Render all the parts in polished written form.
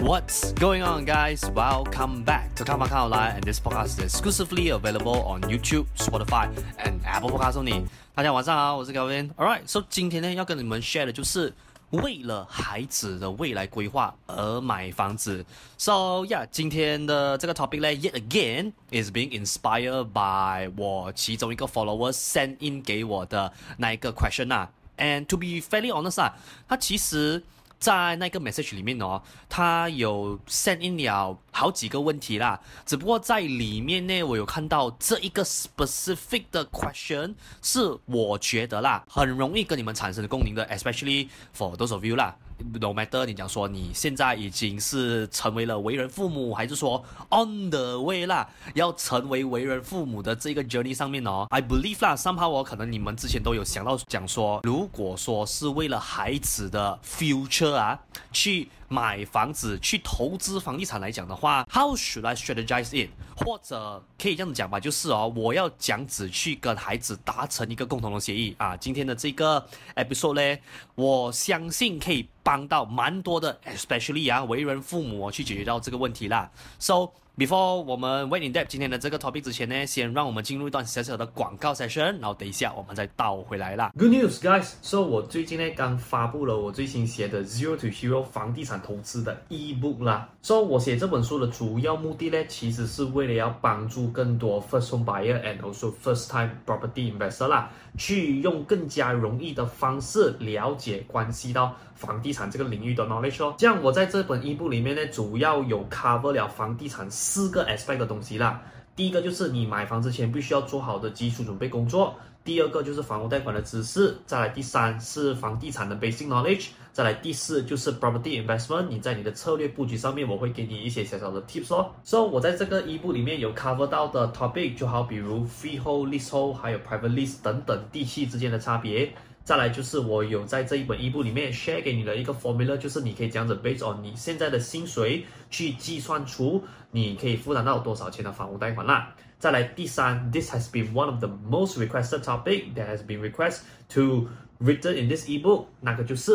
What's going on, guys? Welcome back to看房看好来 and this podcast is exclusively available on YouTube, Spotify, and Apple Podcasts only. 大家晚上好，我是 Kelvin. Alright, so 今天呢要跟你們 share 的就是為了孩子的未來規劃而買房子。So yeah, 今天的這個 topic 呢 yet again is being inspired by 我其中一個 follower send in 給我的那一個 question 啊。And to be fairly honest 啊，他其實在那個 message 裡面哦，他有 send in 了好幾個問題啦，只不過在裡面呢，我有看到這一個 specific 的 question 是我覺得啦，很容易跟你們產生共鳴的 ，especially for those of you 啦。No matter 你講說你現在已經是成為了為人父母，還是說 on the way 啦，要成為為人父母的這個 journey 上面哦 ，I believe 啦 ，somehow 可能你們之前都有想到講說，如果說是為了孩子的 future 啊，去買房子、去投資房地產來講的話 ，How should I strategize it？ 或者可以這樣子講吧，就是哦，我要這樣子去跟孩子達成一個共同的協議啊。今天的這個 episode 呢，我相信可以幫到蠻多的 ，especially 啊，為人父母去解決到這個問題啦。So，before 我們 went in depth 今天的這個 topic 之前呢，先讓我們進入一段小小的廣告 session， 然後等一下我們再倒回來啦。Good news, guys！ So 我最近呢剛發布了我最新寫的 Zero to Hero 房地產投資的 ebook 啦。So 我寫這本書的主要目的呢，其實是為了要幫助更多 first home buyer and also first time property investor 啦，去用更加容易的方式了解關係到房地產這個領域的 knowledge 哦。這樣我在這本 ebook 裡面呢，主要有 cover 了房地產4個 aspect 的東西啦。第一個就是你買房之前必須要做好的基礎準備工作，第二個就是房屋貸款的知識，再來第三是房地產的 basic knowledge， 再來第四就是 property investment， 你在你的策略布局上面我會給你一些小小的 tips 哦。So 我在這個 ebook 裡面有 cover 到的 topic 就好比如 freehold、leasehold 還有 private lease 等等地契之間的差別。再來就是我有在這一本 ebook 裡面 share 給你的一個 formula， 就是你可以這樣子 based on 你現在的薪水去計算出你可以負擔到多少錢的房屋貸款啦。再來第三 ，this has been one of the most requested topic that has been requested to written in this ebook， 那個就是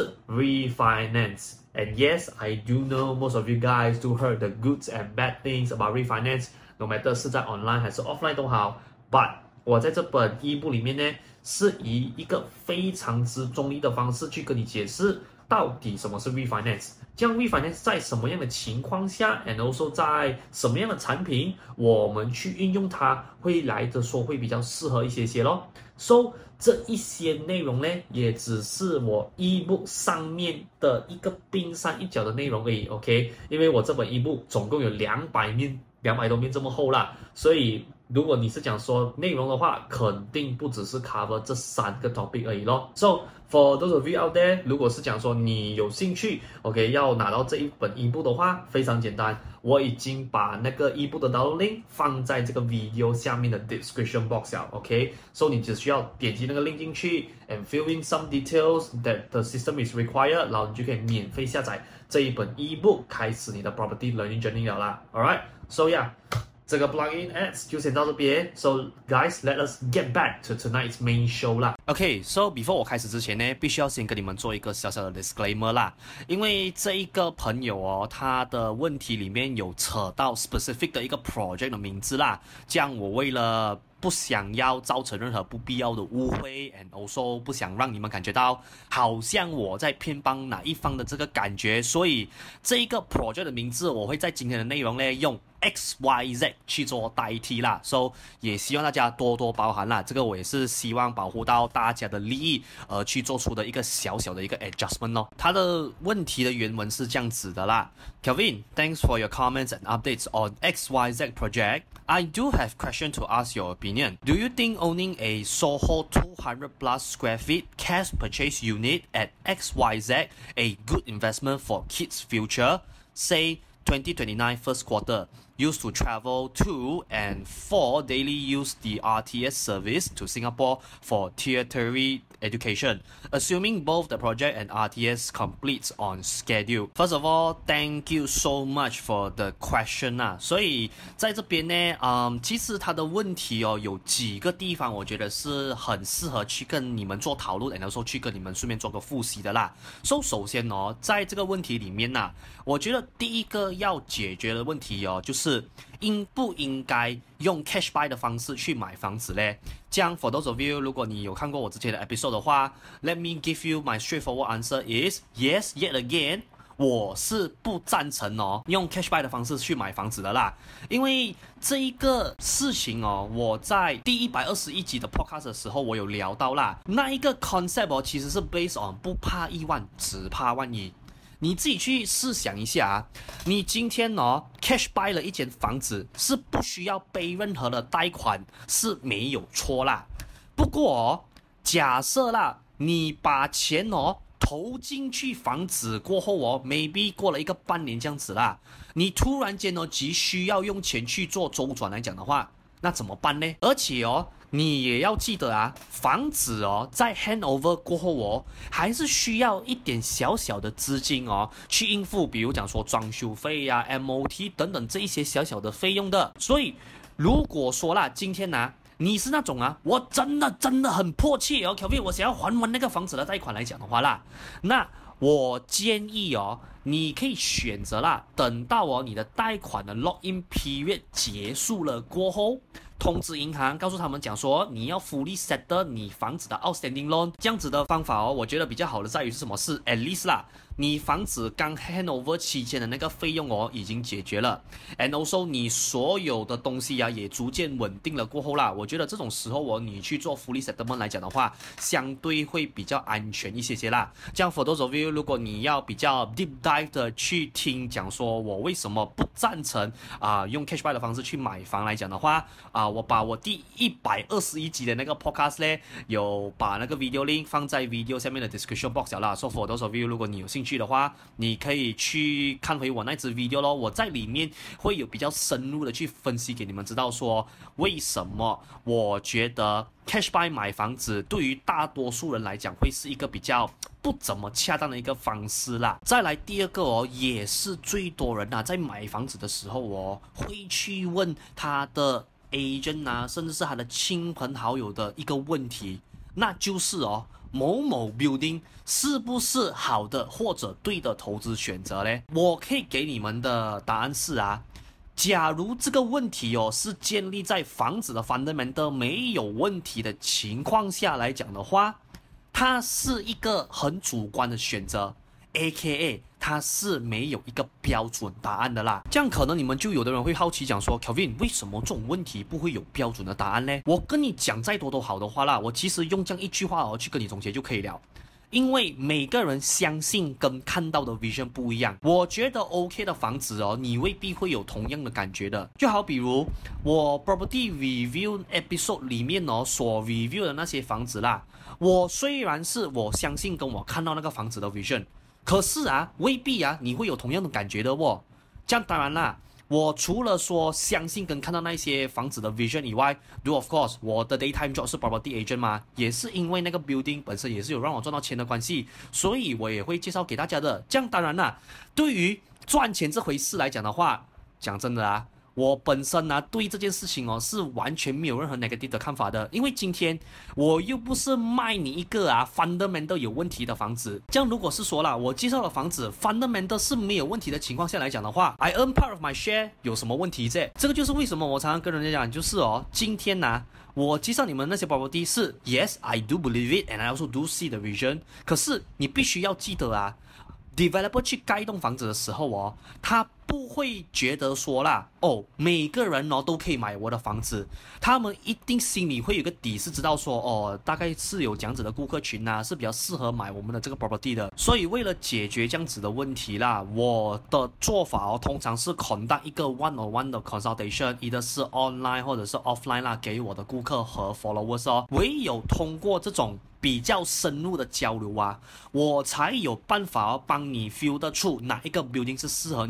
refinance。And yes, I do know most of you guys do heard the goods and bad things about refinance，no matter 是在 online 還是 offline 都好。But 我在這本 ebook 裡面呢，是以一個非常之中立的方式去跟你解釋到底什麼是 refinance， 這樣 refinance 在什麼樣的情況下 and also 在什麼樣的產品我們去運用它會來的說會比較適合一些咯。So 這一些內容呢，也只是我 ebook 上面的一個冰山一角的內容而已 ，OK？ 因為我這本 ebook 總共有200多面這麼厚啦，所以如果你是講說內容的話，肯定不只是 cover 這3個 topic 而已咯。So for those of you out there， 如果是講說你有興趣 ，OK， 要拿到這一本 ebook 的話，非常簡單，我已經把那個 ebook 的 download link 放在這個 video 下面的 description box 了 ，OK，so 你只需要點擊那個 link 進去 and fill in some details that the system is required， 然後你就可以免費下載這一本 ebook， 開始你的 property learning journey 了啦 ，alright，so yeah。這個 plugin ads 就先到這邊 ，So guys, let us get back to tonight's main show 啦。Okay, so before 我開始之前呢，必須要先跟你們做一個小小的 disclaimer 啦，因為這一個朋友哦，他的問題裡面有扯到 specific 的一個 project 的名字啦，這樣我為了不想要造成任何不必要的誤會 and also 不想讓你們感覺到好像我在偏幫哪一方的這個感覺，所以這一個 project 的名字我會在今天的內容呢用 XYZ 去做代替啦， so 也希望大家多多包涵啦，這個我也是希望保護到大家的利益而去做出的一個小小的一個 adjustment 咯。他的問題的原文是這樣子的啦 ，Kelvin, thanks for your comments and updates on XYZ project. I do have question to ask your opinion. Do you think owning a Soho 200 plus square feet cash purchase unit at XYZ a good investment for kids' future? Say 2029 first quarter. used to travel to and for daily use the RTS service to Singapore for tertiary education, assuming both the project and RTS completes on schedule. First of all, thank you so much for the question 啊。所以在这邊呢，其實它的問題哦，有幾個地方我覺得是很適合去跟你們做討論，然後去跟你們順便做個複習的啦。首先哦，在這個問題裡面呢，我覺得第一個要解決的問題哦，就是應不應該用 cash buy 的方式去買房子嘞？這樣 for those of you， 如果你有看過我之前的 episode 的話 ，let me give you my straightforward answer is yes yet again。我是不贊成哦，用 cash buy 的方式去買房子的啦，因為這一個事情哦，我在第121集的 podcast 的時候，我有聊到啦，那一個 concept 哦，其實是 based on 不怕一萬，只怕萬一。你自己去試想一下啊，你今天哦 cash buy 了一間房子，是不需要背任何的貸款，是沒有錯啦。不過哦，假設啦，你把錢哦投進去房子過後哦 ，maybe 過了一個半年這樣子啦，你突然間哦急需要用錢去做周轉來講的話，那怎麼辦呢？而且哦，你也要記得啊，房子哦，在 handover 過後哦，還是需要一點小小的資金哦，去應付，比如講說裝修費呀、MOT 等等這一些小小的費用的。所以，如果說啦，今天呢，你是那種啊，我真的很迫切哦 ，Kelvin， 我想要還完那個房子的貸款來講的話啦，那我建議哦，你可以選擇啦，等到哦你的貸款的 lock-in period 結束了過後，通知銀行，告訴他們講說你要 fully settle 你房子的 outstanding loan， 這樣子的方法哦，我覺得比較好的在於是什麼？是 at least 啦，你房子剛 handover 期間的那個費用哦已經解決了 ，and also 你所有的東西啊也逐漸穩定了過後啦，我覺得這種時候哦你去做 fully settlement 來講的話，相對會比較安全一些啦。這樣 for those of you， 如果你要比較 deep dive 的去聽講說我為什麼不贊成用 cash buy 的方式去買房來講的話我把我第121集的那個 podcast 呢，有把那個 video link 放在 video 下面的 description box 啦。So for those of you， 如果你有興趣的話，你可以去看回我那支 video 咯。我在裡面會有比較深入的去分析給你們知道說，為什麼我覺得 cash buy 買房子對於大多數人來講會是一個比較不怎麼恰當的一個方式啦。再來第二個哦，也是最多人在買房子的時候哦，會去問他的agent 啊，甚至是他的親朋好友的一個問題，那就是哦，某某 building 是不是好的或者對的投資選擇呢？我可以給你們的答案是啊，假如這個問題哦是建立在房子的 fundamental 沒有問題的情況下來講的話，它是一個很主觀的選擇 ，AKA 它是沒有一個標準答案的啦。這樣可能你們就有的人會好奇講說 ，Kelvin 為什麼這種問題不會有標準的答案呢？我跟你講再多都好的話啦，我其實用這樣一句話哦去跟你總結就可以了。因為每個人相信跟看到的 vision 不一樣，我覺得 OK 的房子哦，你未必會有同樣的感覺的。就好比如我 property review episode 裡面哦所 review 的那些房子啦，我雖然是我相信跟我看到那個房子的 vision， 可是啊未必啊你會有同樣的感覺的哦。這樣當然啦，我除了說相信跟看到那些房子的 vision 以外 ，do of course 我的 daytime job 是 property agent 嘛，也是因為那個 building 本身也是有讓我賺到錢的關係，所以我也會介紹給大家的。這樣當然啦，對於賺錢這回事來講的話，講真的啊，我本身對這件事情哦是完全沒有任何 negative 的看法的，因為今天我又不是賣你一個fundamental 有問題的房子。這樣如果是說啦，我介紹的房子 fundamental 是沒有問題的情況下來講的話 ，I earn part of my share 有什麼問題啫？這個就是為什麼我常常跟人家講，就是哦，今天我介紹你們那些 property 是 yes I do believe it and I also do see the vision， 可是你必須要記得developer 去蓋一棟房子的時候哦，他不會覺得說啦，哦，每個人哦都可以買我的房子，他們一定心裡會有個底，是知道說哦，大概是有這樣子的顧客群是比較適合買我們的這個 property 的。所以為了解決這樣子的問題啦，我的做法哦，通常是 conduct 一個 one-on-one 的 consultation， either是 online 或者是 offline 啦，給我的顧客和 followers 哦。唯有通過這種比較深入的交流我才有辦法幫你 feel 得出哪一個 building 是適合你的。注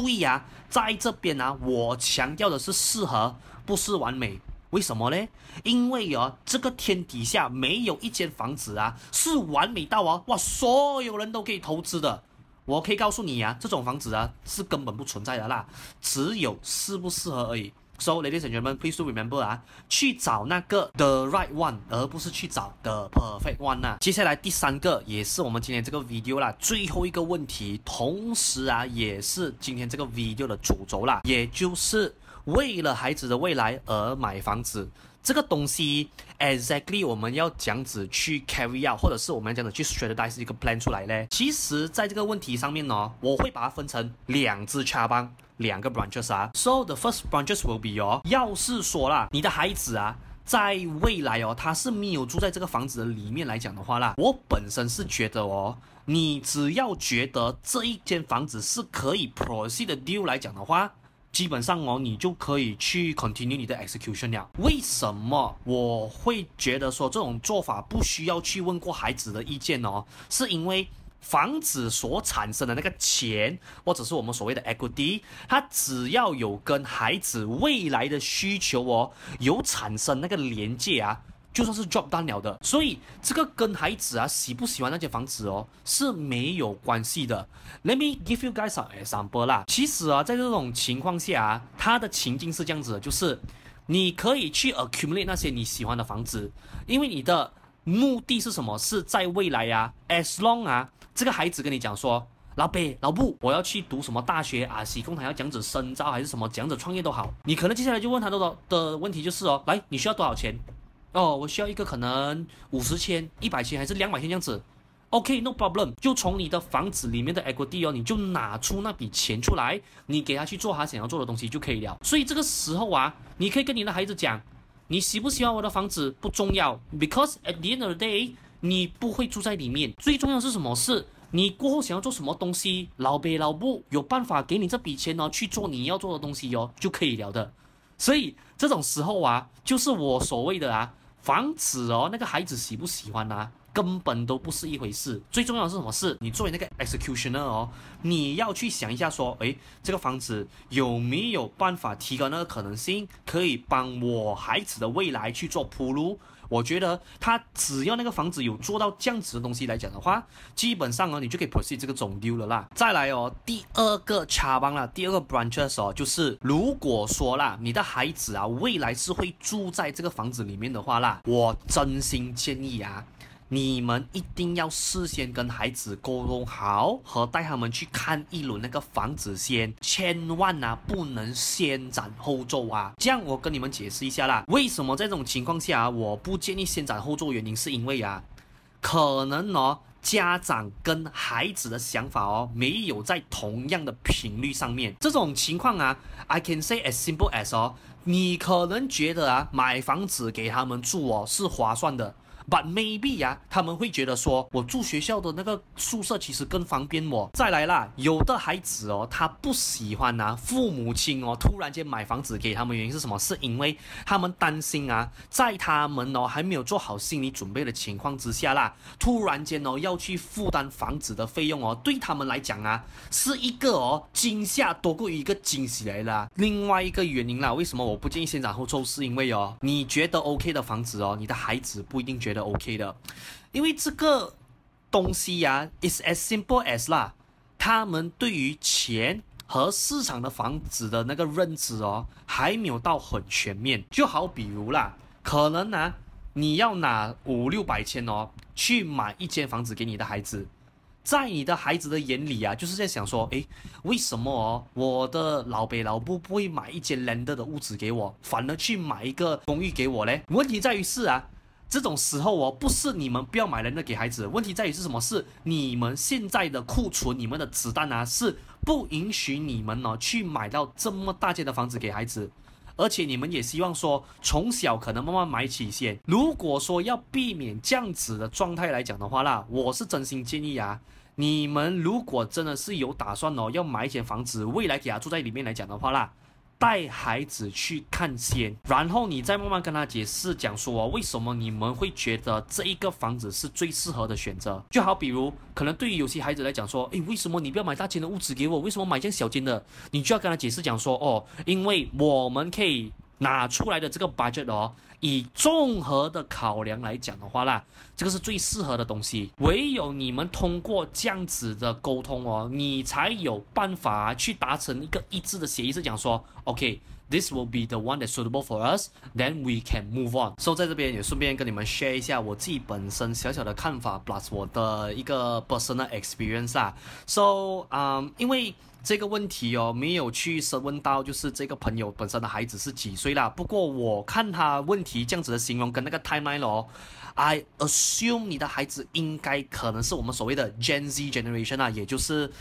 為呀，在這邊啊，我強調的是適合，不是完美。為什麼呢？因為這個天底下沒有一間房子啊是完美到哇，所有人都可以投資的。我可以告訴你這種房子啊是根本不存在的啦，只有適不適合而已。So, ladies and gentlemen, please do remember 去找那個 the right one， 而不是去找 the perfect one 啊。接下來第3個也是我們今天這個 video 啦，最後一個問題，同時也是今天這個 video 的主軸啦，也就是為了孩子的未來而買房子。這個東西 exactly 我們要這樣子去 carry out， 或者是我們要這樣子去 strategize 一個 plan 出來呢？其實在這個問題上面呢，我會把它分成2支cabang，兩個 branches 啊。So the first branches will be 要是說啦，你的孩子在未來他是沒有住在這個房子的裡面來講的話啦，我本身是覺得你只要覺得這一間房子是可以 proceed 的 deal 來講的話，基本上你就可以去 continue 你的 execution 了。為什麼我會覺得說這種做法不需要去問過孩子的意見是因為房子所產生的那個錢，或者是我們所謂的 equity， 它只要有跟孩子未來的需求有產生那個連接就算是 job done 了的。所以這個跟孩子喜不喜歡那間房子是沒有關係的。Let me give you guys an example 啦。其實在這種情況下它的情境是這樣子的，就是你可以去 accumulate 那些你喜歡的房子，因為你的目的是什麼？是在未來as long 這個孩子跟你講說，老爸老母，我要去讀什麼大學喜工他要這樣子深造還是什麼這樣子創業都好，你可能接下來就問他的問題就是來，你需要多少錢？我需要一個可能50千、100千還是200千這樣子。OK, no problem， 就從你的房子裡面的 equity你就拿出那筆錢出來，你給他去做他想要做的東西就可以了。所以這個時候你可以跟你的孩子講，你喜不喜歡我的房子不重要 ，because at the end of the day， 你不會住在裡面。最重要的是什麼？是你過後想要做什麼東西，老爸老母有辦法給你這筆錢去做你要做的東西就可以了的。所以這種時候就是我所謂的房子那個孩子喜不喜歡根本都不是一回事。最重要的是什麼？是你作為那個 executioner 你要去想一下說，這個房子有沒有辦法提高那個可能性，可以幫我孩子的未來去做鋪路。我覺得他只要那個房子有做到這樣子的東西來講的話，基本上你就可以 proceed 這個總 deal 了啦。再來第2個 cabang 啦，第2個 branches 就是如果說啦，你的孩子未來是會住在這個房子裡面的話啦，我真心建議你們一定要事先跟孩子溝通好，和帶他們去看一輪那個房子先，千萬不能先斬後奏這樣我跟你們解釋一下啦，為什麼在這種情況下我不建議先斬後奏？原因是因為可能家長跟孩子的想法沒有在同樣的頻率上面。這種情況I can say as simple as你可能覺得買房子給他們住是划算的。But maybe 他們會覺得說，我住學校的那個宿舍其實更方便我。再來啦，有的孩子他不喜歡父母親突然間買房子給他們，原因是什麼？是因為他們擔心在他們還沒有做好心理準備的情況之下啦，突然間要去負擔房子的費用對他們來講是一個驚嚇多過於一個驚喜來了。另外一個原因啦，為什麼我不建議先斬後奏？是因為你覺得 OK 的房子你的孩子不一定覺得OK 的，因為這個東西is as simple as 啦，他們对於錢和市場的房子的那個認知還沒有到很全面。就好比如啦，可能你要拿500-600千去買一間房子給你的孩子，在你的孩子的眼裡就是在想說，為什麼我的老爸老母不會買一間 landed 的屋子給我，反而去買一個公寓給我呢？問題在於是這種時候不是你們不要買人的給孩子，問題在於是什麼？是你們現在的庫存，你們的子彈是不允許你們去買到這麼大間的房子給孩子，而且你們也希望說從小可能慢慢買起先。如果說要避免這樣子的狀態來講的話啦，我是真心建議你們如果真的是有打算要買一間房子，未來給他住在裡面來講的話啦， 帶孩子去看先，然後你再慢慢跟他解釋，講說為什麼你們會覺得這一個房子是最適合的選擇。就好比如，可能對於有些孩子來講說，誒，為什麼你不要買大間的屋子給我？為什麼買這樣小間的？你就要跟他解釋講說，哦，因為我們可以拿出來的這個 budget 哦，以綜合的考量來講的話啦，這個是最適合的東西。唯有你們通過這樣子的溝通哦，你才有辦法去達成一個一致的協議，是講說 ，OK，this will be the one that's suitable for us，then we can move on。所以在這邊也順便跟你們 share 一下我自己本身小小的看法 ，plus 我的一個 personal experience 啦。So，因為這個問題哦，沒有去審問到，就是這個朋友本身的孩子是幾歲啦。不過我看他問題這樣子的形容跟那個 timeline 哦 ，I assume 你的孩子應該可能是我們所謂的 Gen Z generation 啊，也就是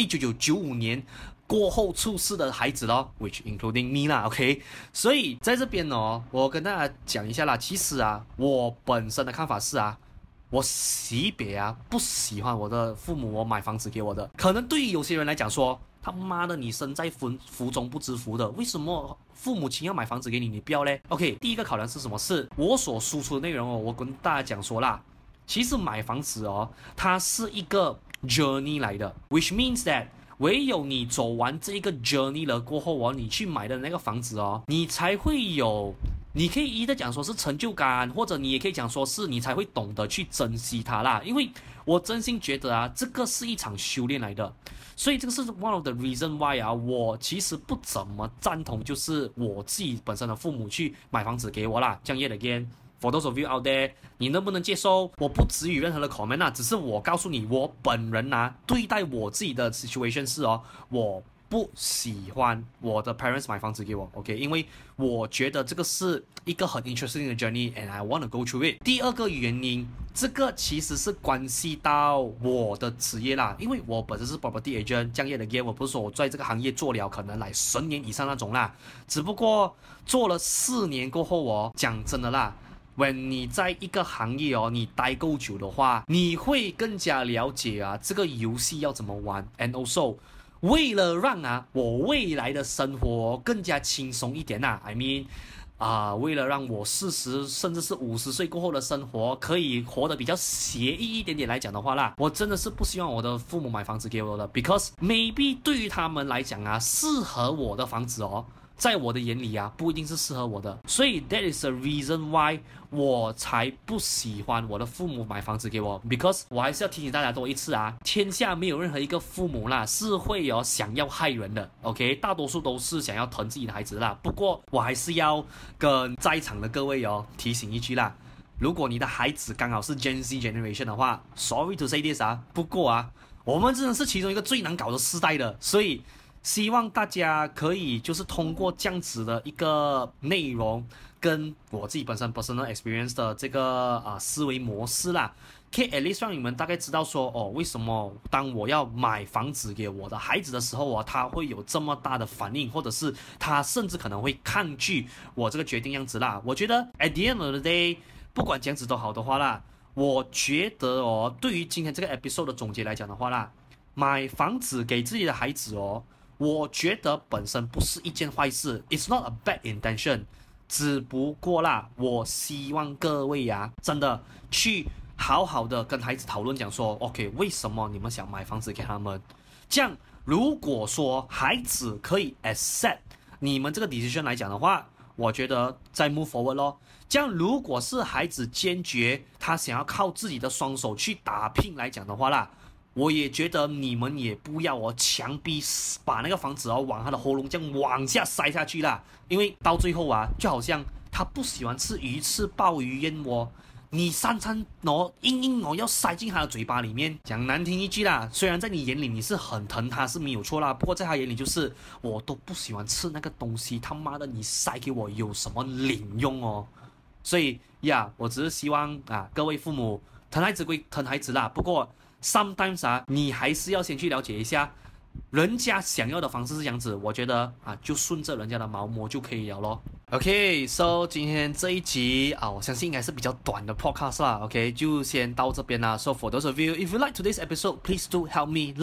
1995年過後出世的孩子咯 ，which including me 啦 ，OK。所以在這邊哦，我跟大家講一下啦，其實啊，我本身的看法是啊，我惜別啊，不喜歡我的父母我買房子給我的。可能對於有些人來講說，他媽的，你身在福中不知福的，為什麼父母親要買房子給你，你不要嘞 ？OK， 第一個考量是什麼？是我所輸出的內容哦，我跟大家講說啦，其實買房子哦，它是一個 journey 來的 ，which means that 唯有你走完這一個 journey 了過後哦，你去買的那個房子哦，你才會有。你可以一直講說是成就感，或者你也可以講說是你才會懂得去珍惜它啦。因為我真心覺得啊，這個是一場修煉來的，所以這個是 one of the reason why 啊，我其實不怎麼贊同，就是我自己本身的父母去買房子給我啦。這樣 yet again，for those of you out there，你能不能接受？我不給予任何的 comment 啊，只是我告訴你，我本人啊，對待我自己的 situation 是哦，我不喜歡我的 parents 買房子給我 ，OK？ 因為我覺得這個是一個很 interesting 的 journey，and I want to go through it。第二個原因，這個其實是關係到我的職業啦，因為我本身是 property agent， 這樣的 game， 我不是說我在這個行業做了可能來10年以上那種啦，只不過做了4年過後哦，講真的啦。when 你在一個行業哦，你待夠久的話，你會更加了解啊這個遊戲要怎麼玩 ，and also。為了讓啊我未來的生活更加輕鬆一點I mean 為了讓我40甚至是50歲過後的生活可以活得比較寫意一點點來講的話啦，我真的是不希望我的父母買房子給我的 ，because maybe 對於他們來講啊，適合我的房子哦，在我的眼裡啊，不一定是適合我的，所以 that is the reason why 我才不喜歡我的父母買房子給我 ，because 我還是要提醒大家多一次啊，天下沒有任何一個父母啦是會有想要害人的 ，OK， 大多數都是想要疼自己的孩子啦。不過我還是要跟在場的各位哦提醒一句啦，如果你的孩子剛好是 Gen Z generation 的話 ，sorry to say this 啊，不過啊，我們真的是其中一個最難搞的世代的，所以。希望大家可以就是通過這樣子的一個內容，跟我自己本身 personal experience 的這個思維模式啦，可以 at least 讓你們大概知道說哦，為什麼當我要買房子給我的孩子的時候他會有這麼大的反應，或者是他甚至可能會抗拒我這個決定樣子啦。我覺得 at the end of the day， 不管這樣子都好的話啦，我覺得哦，對於今天這個 episode 的總結來講的話啦，買房子給自己的孩子哦。我覺得本身不是一件壞事 ，It's not a bad intention， 只不過啦，我希望各位呀，真的去好好的跟孩子討論，講說 ，OK， 為什麼你們想買房子給他們？這樣，如果說孩子可以 accept 你們這個 decision 來講的話，我覺得再 move forward 咯。這樣，如果是孩子堅決他想要靠自己的雙手去打拼來講的話啦。我也覺得你們也不要強逼把那個房子往他的喉嚨這樣往下塞下去啦，因為到最後啊，就好像他不喜歡吃魚翅、鮑魚、燕窩，你3餐硬要塞進他的嘴巴裡面，講難聽一句啦，雖然在你眼裡你是很疼他是沒有錯啦，不過在他眼裡就是我都不喜歡吃那個東西，他媽的你塞給我有什麼領用哦？所以呀，我只是希望各位父母疼孩子歸疼孩子啦，不過。Sometimes 你還是要先去了解一下，人家想要的方式是這樣子，我覺得就順着人家的毛摸就可以了咯。OK，so 今天這一集我相信應該是比較短的 podcast 啦。OK， 就先到這邊啦。So for those of you, if you like today's episode, please do help me like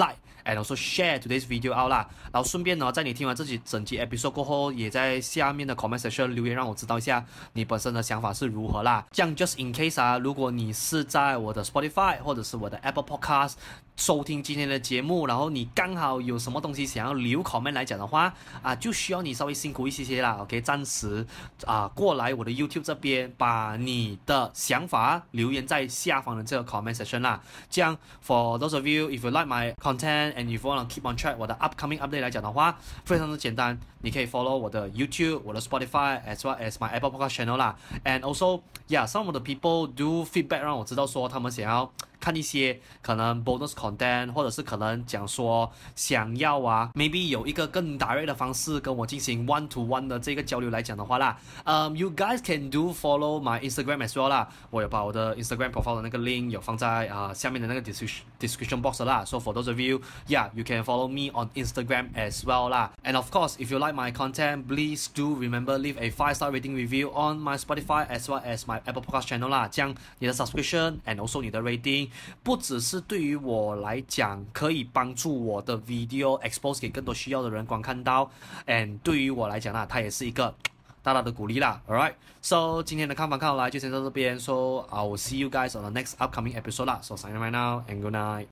and also share today's video out 啦。然後順便呢，在你聽完這集整集 episode 過後，也在下面的 comment section 留言，讓我知道一下你本身的想法是如何啦。這樣 just in case 啊，如果你是在我的 Spotify 或者是我的 Apple Podcast 收聽今天的節目，然後你剛好有什麼東西想要留 comment 來講的話啊，就需要你稍微辛苦一些啦。OK， 暫時過來我的 YouTube 這邊，把你的想法留言在下方的這個 comment section 啦。這樣 for those of you if you like my content and if you want to keep on track 我的 upcoming update 來講的話，非常的簡單，你可以 follow 我的 YouTube、我的 Spotify as well as my Apple Podcast channel 啦。And also some of the people do feedback 讓我知道說他們想要看一些可能 bonus content， 或者是可能講說想要maybe 有一個更 direct 的方式跟我進行 one to one 的這個交流來講的話啦，you guys can do follow my Instagram as well 啦。我有把我的 Instagram profile 的那個 link 有放在下面的那個 description box 啦。So for those of you you can follow me on Instagram as well 啦。And of course if you like my content, please do remember leave a 5-star rating review on my Spotify as well as my Apple Podcast channel 啦。這樣你的 subscription and also 你的 rating不只是對於我來講可以幫助我的 video expose 給更多需要的人觀看到 and 對於我來講它也是一個大大的鼓勵啦。 Alright, so 今天的看法看好來就先到這邊， so I will see you guys on the next upcoming episode 啦。So sign right now and good night.